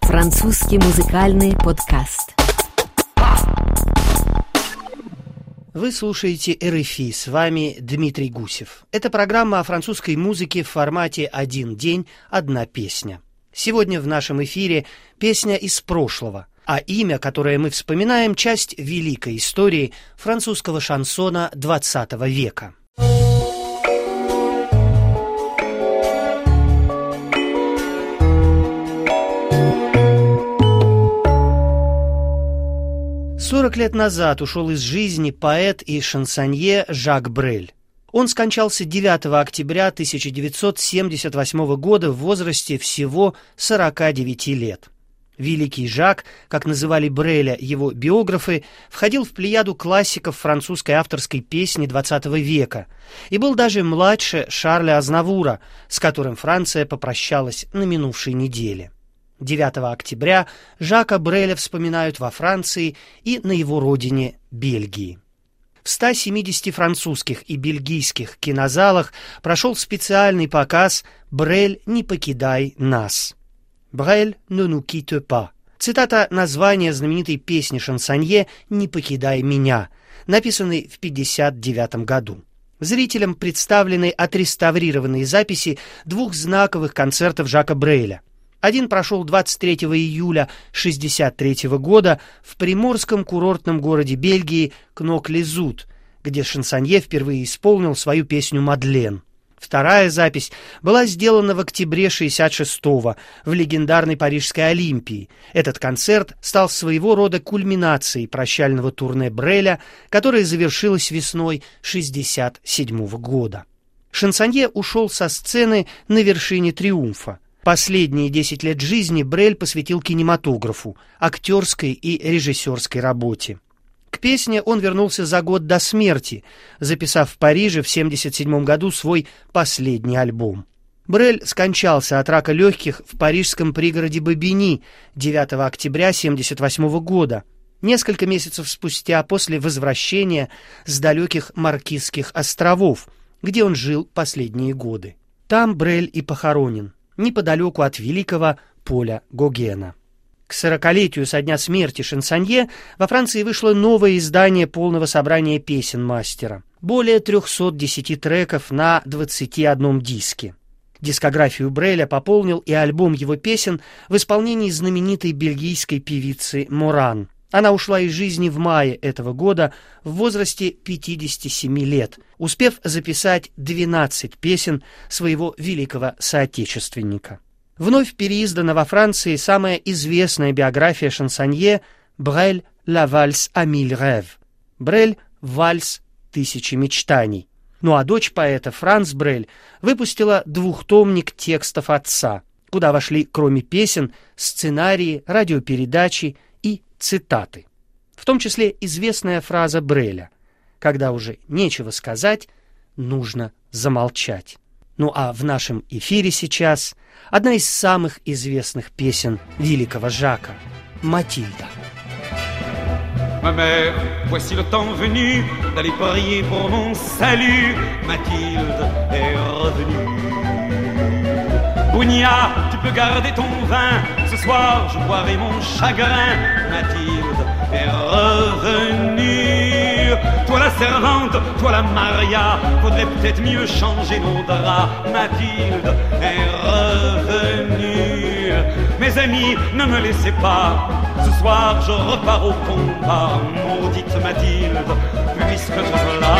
Французский музыкальный подкаст. Вы слушаете РФИ, с вами Дмитрий Гусев. Это программа о французской музыке в формате «Один день, одна песня». Сегодня в нашем эфире песня из прошлого, а имя, которое мы вспоминаем, часть великой истории французского шансона XX века. «40 лет назад ушел из жизни поэт и шансонье Жак Брель. Он скончался 9 октября 1978 года в возрасте всего 49 лет. Великий Жак, как называли Бреля его биографы, входил в плеяду классиков французской авторской песни XX века и был даже младше Шарля Азнавура, с которым Франция попрощалась на минувшей неделе. 9 октября Жака Бреля вспоминают во Франции и на его родине Бельгии. В 170 французских и бельгийских кинозалах прошел специальный показ «Брель, не покидай нас». «Брель, ne nous quitte pas». Цитата названия знаменитой песни шансонье «Не покидай меня», написанной в 1959 году. Зрителям представлены отреставрированные записи двух знаковых концертов Жака Бреля. Один прошел 23 июля 1963 года в приморском курортном городе Бельгии Кнок-Лизут, где шансонье впервые исполнил свою песню «Мадлен». Вторая запись была сделана в октябре 1966-го в легендарной Парижской Олимпии. Этот концерт стал своего рода кульминацией прощального турне Бреля, которое завершилось весной 1967 года. Шансонье ушел со сцены на вершине триумфа. Последние 10 лет жизни Брель посвятил кинематографу, актерской и режиссерской работе. К песне он вернулся за год до смерти, записав в Париже в 1977 году свой последний альбом. Брель скончался от рака легких в парижском пригороде Бобигни 9 октября 1978 года, несколько месяцев спустя после возвращения с далеких Маркизских островов, где он жил последние годы. Там Брель и похоронен, неподалеку от великого поля Гогена. К 40-летию со дня смерти шансонье во Франции вышло новое издание полного собрания песен мастера. Более 310 треков на 21 диске. Дискографию Бреля пополнил и альбом его песен в исполнении знаменитой бельгийской певицы Моран. Она ушла из жизни в мае этого года в возрасте 57 лет, успев записать 12 песен своего великого соотечественника. Вновь переиздана во Франции самая известная биография шансонье «Брель, la valse à mille rêves» — «Брель, вальс тысячи мечтаний». Ну а дочь поэта Франс Брель выпустила двухтомник текстов отца, куда вошли, кроме песен, сценарии, радиопередачи и цитаты. В том числе известная фраза Бреля: «Когда уже нечего сказать, нужно замолчать». Ну а в нашем эфире сейчас одна из самых известных песен великого Жака — «Матильда». Ma mère, voici le temps venu d'aller prier pour mon salut. Mathilde est revenue. Bougnat, tu peux garder ton vin. Ce soir, je boirai mon chagrin. Mathilde est revenue. Toi la servante, toi la Maria, faudrait peut-être mieux changer nos draps. Mathilde est revenue. Mes amis, ne me laissez pas. Ce soir, je repars au combat. Maudite Mathilde, puisque te voilà.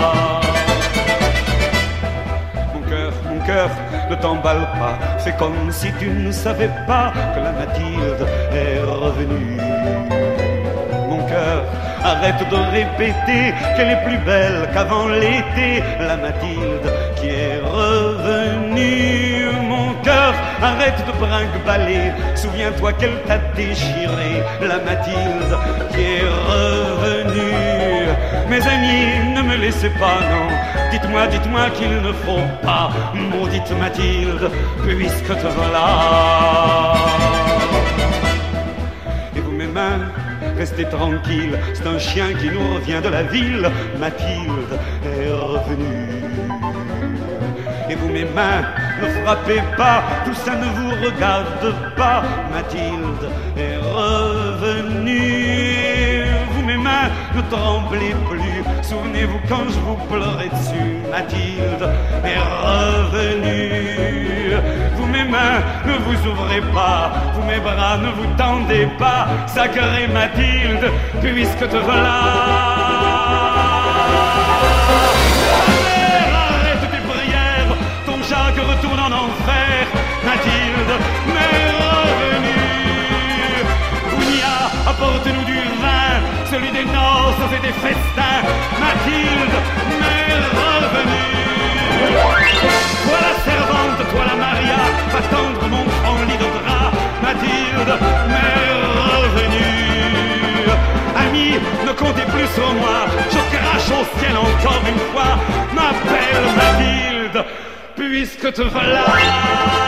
Mon cœur, ne t'emballe pas. C'est comme si tu ne savais pas que la Mathilde est revenue. Mon cœur, arrête de répéter qu'elle est plus belle qu'avant l'été. La Mathilde qui est revenue. Mon cœur, arrête de brinque-baller. Souviens-toi qu'elle t'a déchiré. La Mathilde qui est revenue. Mes amis, ne me laissez pas, non. Dites-moi qu'il ne faut pas. Maudite Mathilde, puisque te voilà. Et vous, mes mains, restez tranquilles. C'est un chien qui nous revient de la ville. Mathilde est revenue. Et vous, mes mains, ne frappez pas, tout ça ne vous regarde pas. Mathilde est revenue. Vous, mes mains, ne tremblez plus. Souvenez-vous quand je vous pleurais dessus. Mathilde est revenue. Vous, mes mains, ne vous ouvrez pas. Vous, mes bras, ne vous tendez pas. Sacrée Mathilde, puisque te voilà. Arrête tes prières, ton Jacques retourne en enfer. Mathilde, m'est revenue. Ounia, apporte-nous du vin, celui des noces et des festins. Mathilde, m'est revenue. Toi la servante, toi la Maria, va tendre mon grand lit de drap. Mathilde, m'est revenue. Amis, ne comptez plus sur moi, je crache au ciel encore une fois. M'appelle Mathilde, puisque te voilà.